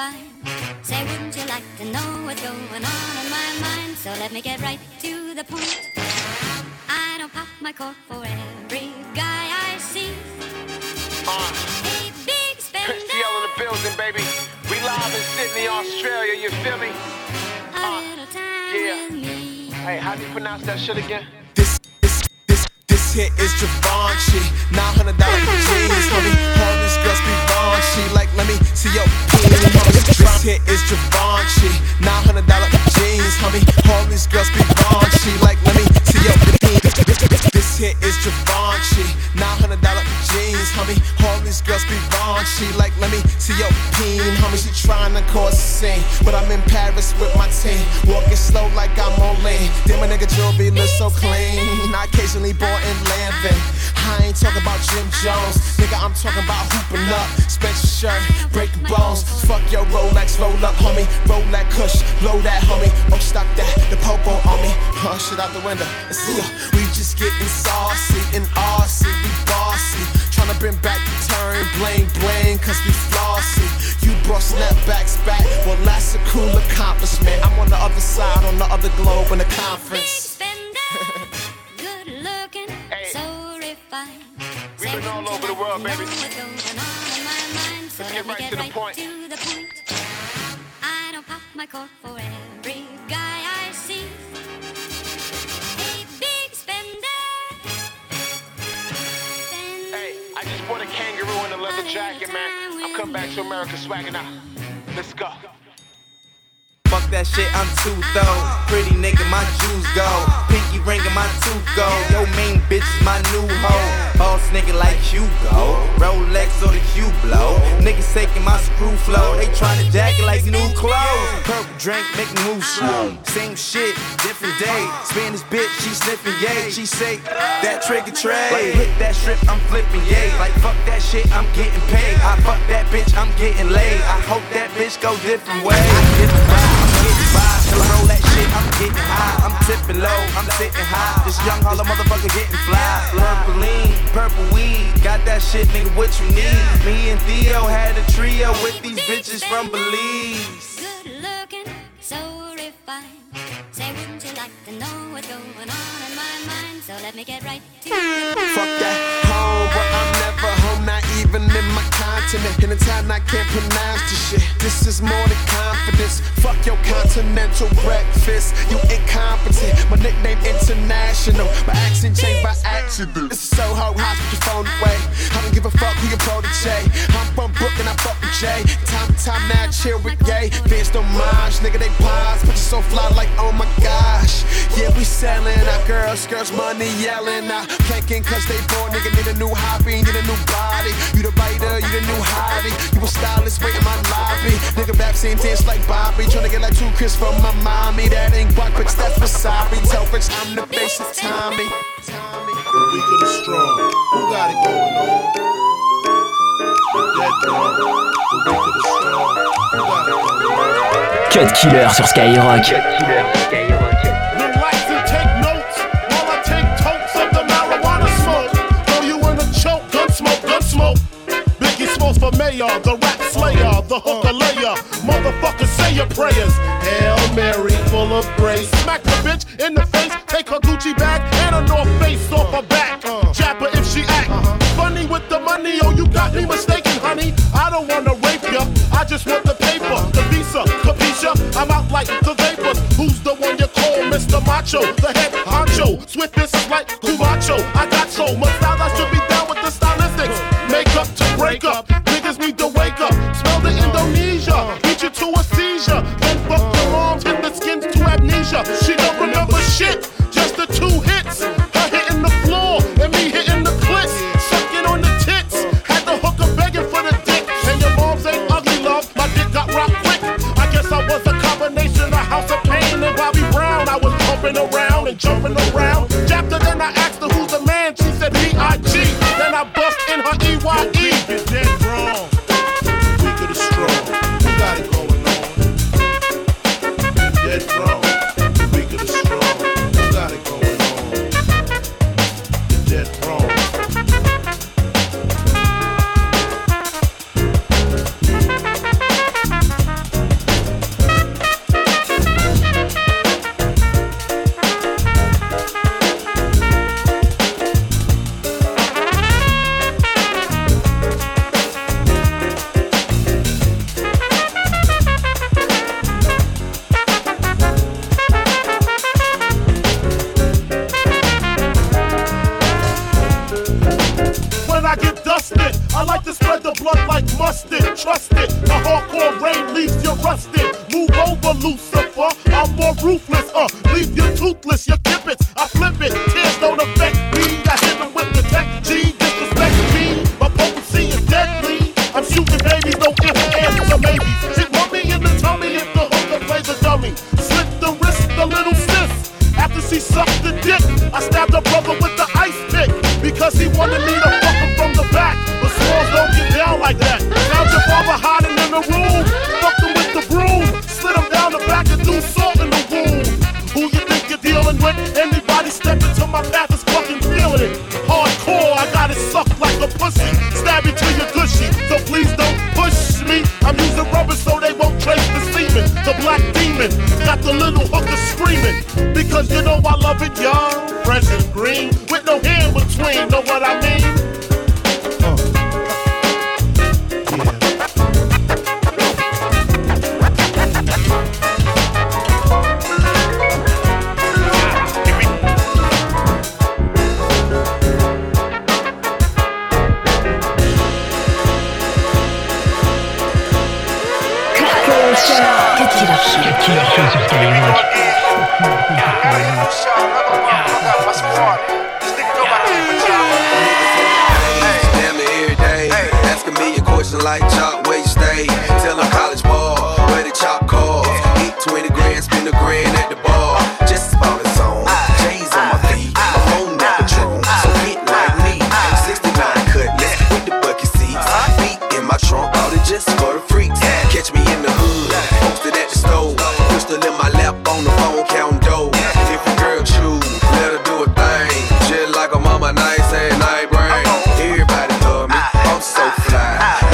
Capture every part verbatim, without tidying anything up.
fine. Say, wouldn't you like to know what's going on in my mind? So let me get right to the point. I don't pop my cork for every guy I see. Uh, hey, big spender. Prince T L in the building, baby. We live in Sydney, Australia, you feel me? A uh, little time yeah. with me. Hey, how do you pronounce that shit again? This, this, this, this hit is Givenchy. nine hundred dollars jeans, homie. All these girls be raunchy. Like, let me see your peen, homie. This hit is Givenchy. nine hundred dollars jeans, homie. All these girls be raunchy. Like, let me see your peen. This hit is Givenchy. nine hundred dollars jeans, homie. All these girls be raunchy. Like, let me see your peen, homie. She tryna cause a scene, but I'm in Paris with my team. Walking slow like I'm on lean. Then my nigga jewelry look so clean. I occasionally born in Lanvin. I ain't talking about Jim Jones, nigga, I'm talking about hooping up. Spencer shirt, breaking bones. Fuck your Rolex, roll up, homie. Roll that kush, blow that, homie. Oh, stop that, the popo on me. Oh, shit out the window. Let's see ya. We just getting saucy in R C, we bossy. Tryna bring back the turn, bling bling, cause we flossy. You brought snapbacks back, well that's a cool accomplishment. I'm on the other side, on the other globe in the conference. Good looking, hey. So refined. We've been all over the world, baby. So let's get right get to the point. To the point. I don't pop my cork for every guy I see. Hey, big spender. spender. Hey, I just bought a kangaroo in a leather jacket, man. I'm coming back to America swagging out. Let's go. Fuck that shit, I'm too though. Pretty nigga, my jewels go. Pinky ring and my tooth go. Yo, main bitch is my new hoe. Boss nigga like Hugo. Rolex or the Q-Blow. Niggas taking my screw flow. They tryna jack it like new clothes. Purple drink, make me move slow. Same shit, different day. Spanish bitch, she sniffing yay. She say, that trigger trade. Like hit that strip, I'm flipping yay. Like fuck that shit, I'm getting paid. I fuck that bitch, I'm getting laid. I hope that bitch go different ways. I get the vibe. Till I roll that shit, I'm getting high. I'm tipping low, I'm sitting high. This young holla motherfucker getting fly. Purple lean, purple weed. Got that shit, nigga, what you need? Me and Theo had a trio with these bitches from Belize. Good looking, so refined. Say, wouldn't you like to know what's going on in my mind? So let me get right to it. Fuck that home, but I'm never home, not even in my continent. In a town I can't pronounce this shit. This is more than confidence. Fuck your continental breakfast. You incompetent. My nickname international. My accent changed by accident. This is so hard, hot, put your phone away. I don't give a fuck who your protege. I'm from Brooklyn, I fuck with Jay. Time to time now, chill with gay. Fans don't mind, nigga, they pause. But you so fly like, oh my gosh. Yeah, we selling our girls, girls money yelling. Now planking cause they born, nigga, need a new hobby, need a new body. You the writer, you the new hottie. You a stylist, wait in my lobby. Nigga rap scene dance like Bobby. Tryna get like two Chris from my mommy. That ain't Buck, bitch, that's Wasabi. Tell bitch I'm the face of Tommy. Tommy. We could have strong. Who got it going on? Dead drum. We could have strong. Who got it going on? Cut Killer sur Skyrock. Cut Killer sur Skyrock. Relax and take notes while I take totes of the marijuana smoke. Throw you in a choke, gun smoke, gun smoke. Biggie Smalls for mayor, the rap slayer, the hooker layer. Motherfuckers say your prayers. Hail Mary, full of grace. Smack the bitch in the face, take her Gucci bag and a North Face off her back. Jab her if she act funny with the money. Oh, you got me mistaken, honey. I don't wanna rape ya, I just want the paper, the visa, capisha. I'm out like the vapors. Who's the one you call Mister Macho? The head honcho, swiftest like Cumacho. I got so much style, I should be down with the stylistics. Make up to break up, niggas need to wake up. Smell the Indonesia, beat you to a seizure. Then fuck your moms, hit the skins to amnesia. She don't remember shit, just the two hits. Her hitting the floor, and me hitting the clits. Sucking on the tits, had the hooker begging for the dick. And your moms ain't ugly, love, my dick got rocked quick. I guess I was a combination of House of Pain and Bobby Brown. I was pumping around and jumping around. Japped her, then I asked her who's the man. She said B I G Then I bust in her E Y E Get dead wrong. We could have strong. Who got it going on? Dead wrong. We could have strong. Who got it going on? Dead wrong. I get dusted. I like to spread the blood like mustard. Trust it, the hardcore rain leaves you rusted. Move over, Lucifer, I'm more ruthless. Uh, leave you toothless, you kip it. I flip it, tears don't affect me. I hit them with the tech G, disrespect me. My potency is deadly. I'm shooting babies, no ifs, ands, or maybes. Hit mommy in the tummy if the hooker plays a dummy. Slit the wrist, the little sis. After she sucked the dick, I stabbed her brother with the ice pick. Because he wanted me to fuck him from the back. But Smalls don't get down like that. Found your father hiding in the room. Fucked him with the broom. Slid him down the back and threw salt in the wound. Who you think you're dealing with? Anybody step into my path is fucking feeling it. Hardcore, I got it sucked like a pussy. Stab you till you're gushy. So please don't push me. I'm using rubber so they won't trace the semen. The black demon got the little hooker screaming. Because you know I love it young, fresh and green, with no hair in between, know what I mean? Uh. Like Chalk, where you stay? Tell them college ball, where the Chalk calls. Eat twenty grand, spend a grand at the bar. Just about its own. J's on my feet, I'm on that Patron. So get like me, sixty-nine cutlass with the bucket seats. Feet in my trunk, all it just for the freaks. Catch me in the hood, posted at the stove. Pistol in my lap on the phone, counting dough. If a girl choose, let her do a thing. Just like a mama, nice and night brain. Everybody love me, I'm so fly.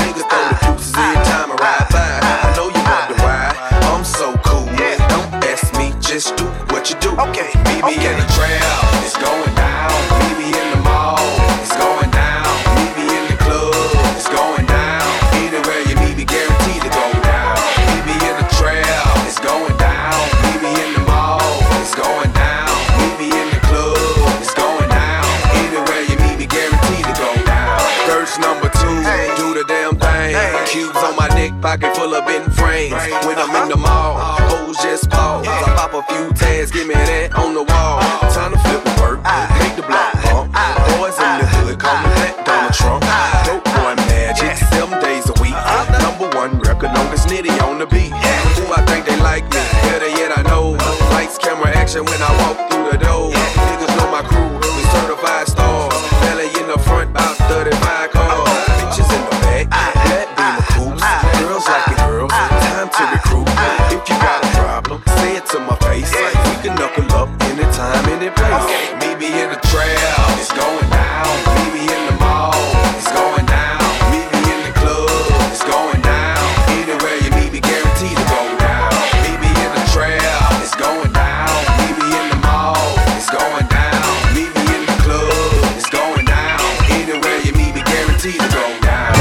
Just do what you do. Okay, meet me okay. in the trail, it's going down. Meet me in the mall, it's going down. Meet me in the club, it's going down. Anywhere you meet me, guaranteed to go down. Meet me in the trail, it's going down. Meet me in the mall, it's going down. Meet me in the club, it's going down. Anywhere you meet me, guaranteed to go down. Verse number two, hey. Do the damn thing. Hey. Cubes on my neck, pocket full of bent frames. When I'm in the mall, hoes just pause. I pop a few tags, give me that on the wall. Time to flip the work, make the block pump. Boys in the hood, call me Black Donald Trump. Dope boy magic, seven days a week. Number one record, longest nitty on the beat. Who I think they like me, better yet I know. Lights, camera, action when I walk through the door. Niggas know my crew, we certified stars. Belly in the front, about thirty-five cars. Bitches in the back, black beamer coops. Girls like it girls, time to recruit. If you got a problem, say it to my face. We can knuckle up anytime, any place. Meet me in the trail, it's going down. Meet me in the mall, it's going down. Meet me in the club, it's going down. Anywhere you meet me, guaranteed to go down. Meet me in the trail, it's going down. Meet me in the mall, it's going down. Meet me in the club, it's going down. Anywhere you meet me, guaranteed to go down.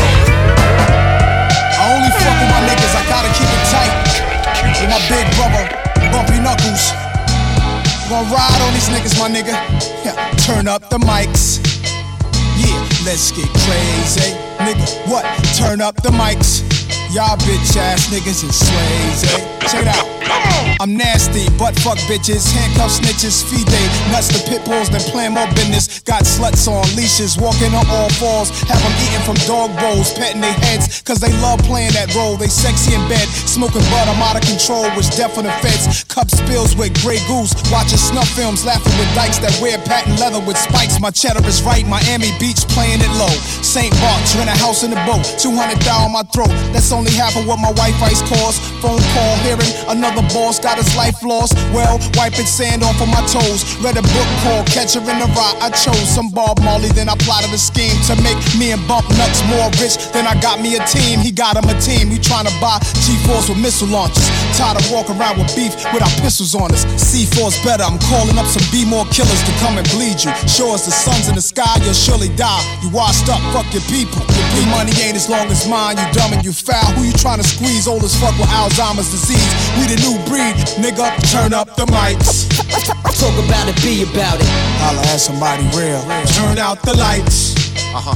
I only fuck with my niggas, I gotta keep it tight. With my big brother, Bumpy Knuckles. Gonna ride on these niggas, my nigga. Yeah, turn up the mics. Yeah, let's get crazy. Nigga, what? Turn up the mics. Y'all bitch ass niggas is slaves, eh? Check it out. I'm nasty, butt fuck bitches, handcuff snitches, feed they nuts to pit bulls, then plan more business. Got sluts on leashes, walking on all fours, have them eating from dog bowls, petting their heads, cause they love playing that role. They sexy in bed, smoking bud, I'm out of control, which death for the feds. Cup spills with Grey Goose, watching snuff films, laughing with dykes that wear patent leather with spikes. My cheddar is right, Miami Beach playing it low. Saint Bart's, rent a house in the boat, two hundred thousand on my throat. That's only half of what my wife ice costs. Phone call, hearing another boss got his life lost. Well, wiping sand off of my toes. Read a book called Catcher in the Rye. I chose some Bob Marley, then I plotted a scheme to make me and Bump Nuts more rich. Then I got me a team, he got him a team. We trying to buy G fours with missile launchers. Tired of walking around with beef with our pistols on us. C four's better, I'm calling up some B-more killers to come and bleed you. Show us the sun's in the sky, you'll surely die. You washed up, fuck your people. Your money ain't as long as mine, you dumb and you foul. Who you trying to squeeze? Old as fuck with Alzheimer's disease. We the new breed, nigga, turn up the mics. Talk about it, be about it. Holla at somebody real. Turn out the lights. Uh-huh.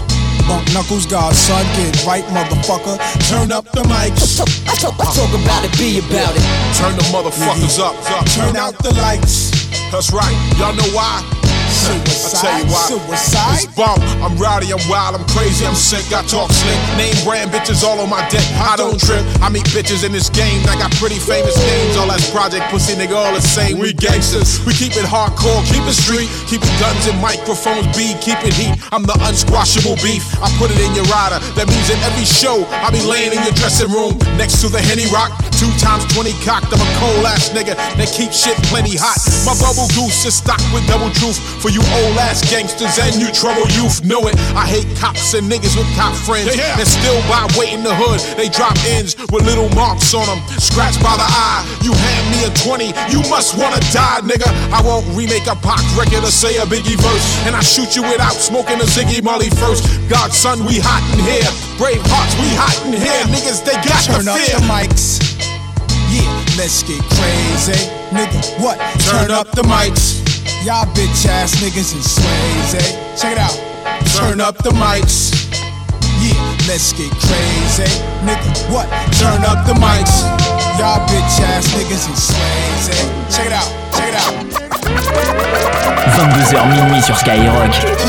Bump knuckles, godson, get right, motherfucker. Turn up the mics. I talk, I talk about it, be about it. Turn the motherfuckers up, up. Turn out the lights. That's right. Y'all know why? Suicide, I tell you why. Suicide. It's bump. I'm rowdy, I'm wild, I'm crazy, I'm sick. I talk slick. Name brand bitches all on my dick. I don't trip. I meet bitches in this game. I got pretty famous names. All that's project pussy, nigga, all the same. We gangsters. We keep it hardcore, keep it street. Keep it guns and microphones beat. Keep it heat. I'm the unsquashable beef. I put it in your rider. That means in every show I be laying in your dressing room next to the Henny Rock. Two times twenty cocked. I'm a cold ass nigga that keep shit plenty hot. My bubble goose is stocked with double truth. For you old ass gangsters and you trouble youth, know it. I hate cops and niggas with cop friends yeah, yeah. that still buy weight in the hood. They drop ends with little marks on them, scratched by the eye. You hand me a twenty, you must wanna die, nigga. I won't remake a Pac record or say a Biggie verse, and I shoot you without smoking a Ziggy Molly first. Godson, we hot in here. Brave hearts, we hot in here. Niggas, they got Turn the up fear. the mics. Yeah, let's get crazy. Nigga, what? Turn up the mics. Y'all bitch ass niggas is Swayze. Check it out. Turn up the mics. Yeah, let's get crazy. Nigga, what? Turn up the mics. Y'all bitch ass niggas is Swayze. Check it out. Check it out. vingt-deux heures minuit sur Skyrock.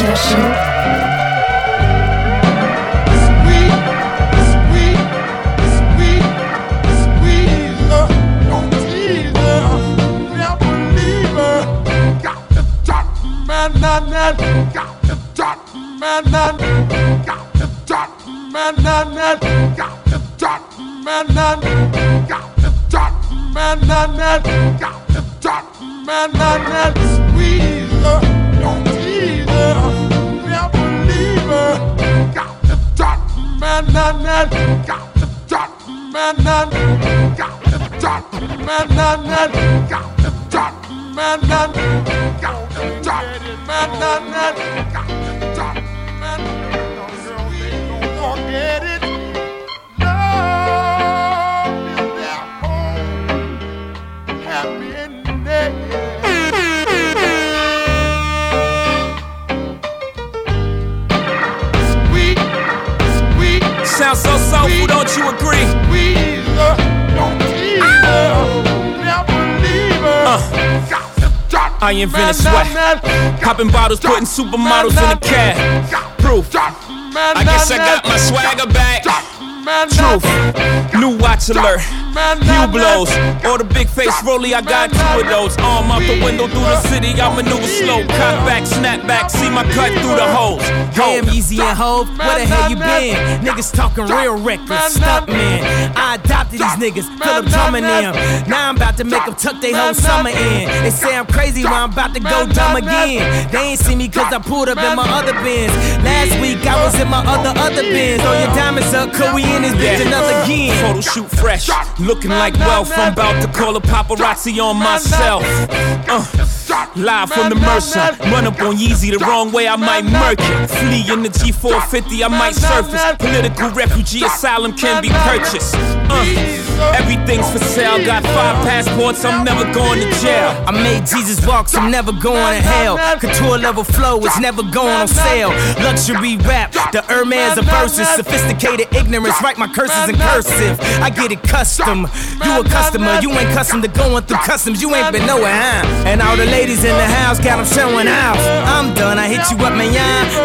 Man, got the dot, man, got the dot, man, got the dot, man, got the dot, man, got the dot, man, squeeze her, don't tease her, never leave her. Got the dot, man, got the dot, man, got the dot, man, got the dot, man, got the dot. Man, man, man, got the dot, man. No girl, they don't forget it. Love is their home, happiness. Sweet, sweet. Sounds so soulful, don't you agree? Squeeze her, don't tease her, never leave her. Uh. I invented sweat, popping bottles, putting supermodels in a cab. Proof, I guess I got my swagger back. Truth, new watch alert, Hue blows, or the big face rollie, I got two of those. Arm out the window through the city, I maneuver slow. Cock back, snap back, see my cut through the holes. Damn, Easy and Hove, where the hell you been? Niggas talking real reckless, stunt man. I adopted these niggas, Philip Drummond them. Now I'm about to make them tuck they whole summer in. They say I'm crazy, but I'm about to go dumb again. They ain't see me cause I pulled up in my other Benz. Last week I was in my other, other Benz. Throw your diamonds up, cause we in this bitch another again. Photo shoot fresh, looking like wealth. I'm about to call a paparazzi on myself. Uh, live from the Mercer, run up on Yeezy the wrong way, I might murk it. Flee in the G four fifty, I might surface. Political refugee asylum can be purchased. Uh, everything's for sale, got five passports, I'm never going to jail. I made Jesus walk, so I'm never going to hell. Couture level flow, it's never going on sale. Luxury rap, the Hermes of verses. Sophisticated ignorance, write my curses in cursive. I get it custom, you a customer, you ain't custom to going through customs. You ain't been nowhere, huh? And all the ladies in the house got them showing out. I'm done, I hit you up, man,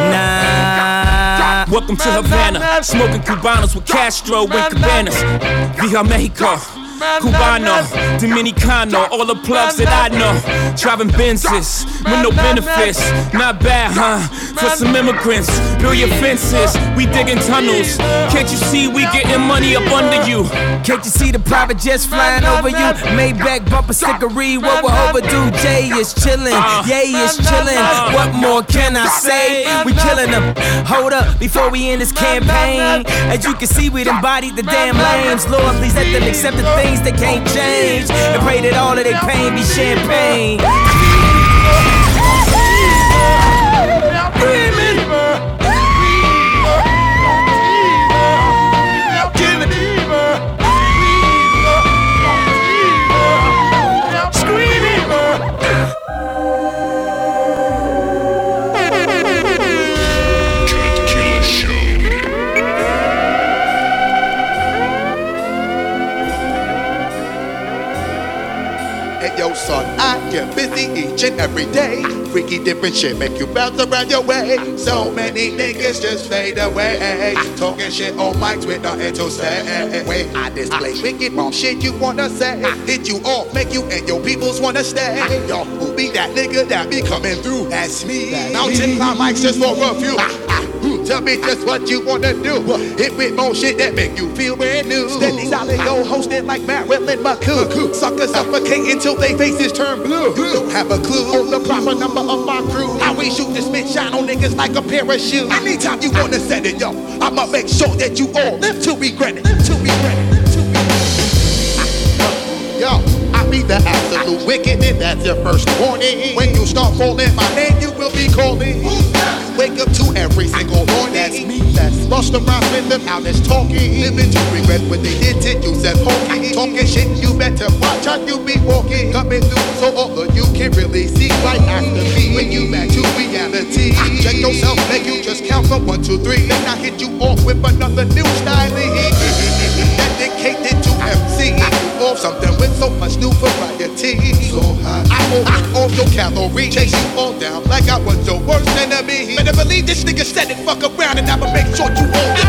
nah. Welcome to Havana, smoking Cubanos with Castro and Cabanas. Via Mexico, Cubano, Dominicano, all the plugs that I know. Driving Benzes with no benefits, not bad, huh? For some immigrants, build your fences, we digging tunnels. Can't you see we getting money up under you? Can't you see the private jets flying over you? Maybach bumper stickery, what we're overdue. Jay is chillin', Yay is chillin'. What more can I say? We killin' them. Hold up, before we end this campaign. As you can see, we embodied the damn lames. Lord, please let them accept the things they can't change, and pray that all of their pain be champagne. Killer Show. each and every day. Freaky different shit make you bounce around your way. So many niggas just fade away. Talking shit on mics with nothing to say. When I display wicked wrong shit you wanna say. Hit you off, make you and your peoples wanna stay. Yo, who be that nigga that be coming through? That's me. Mountain climb mics just for a few. Tell me just what you wanna do. Hit with more shit that make you feel brand new. Steady solid go hosted like Marilyn McCoo. Suckers suffocate until they faces turn blue. You don't have a clue on the proper number of my crew. How we shoot this bitch shine on niggas like a parachute. Anytime you wanna set it, yo, I'ma make sure that you all live to regret it. To regret it. To regret it. Yo, I be the absolute wicked, and that's your first warning. When you start calling my name, you will be calling. Wake up to every single morning. That's me. That's lost around with them out that's talking. Living to regret what they did to you. Said hokey. Talking shit, you better watch how you be walking. Coming through so all of you can really see right after me. When you back to reality, check yourself, make you just count from one, two, three. Then I hit you off with another new style. Dedicated to M C. Or something with so much new variety. So hot. I will hit all your calories. Chase you all down like I was your worst enemy. Better believe this nigga said it, fuck around and I'ma make sure you all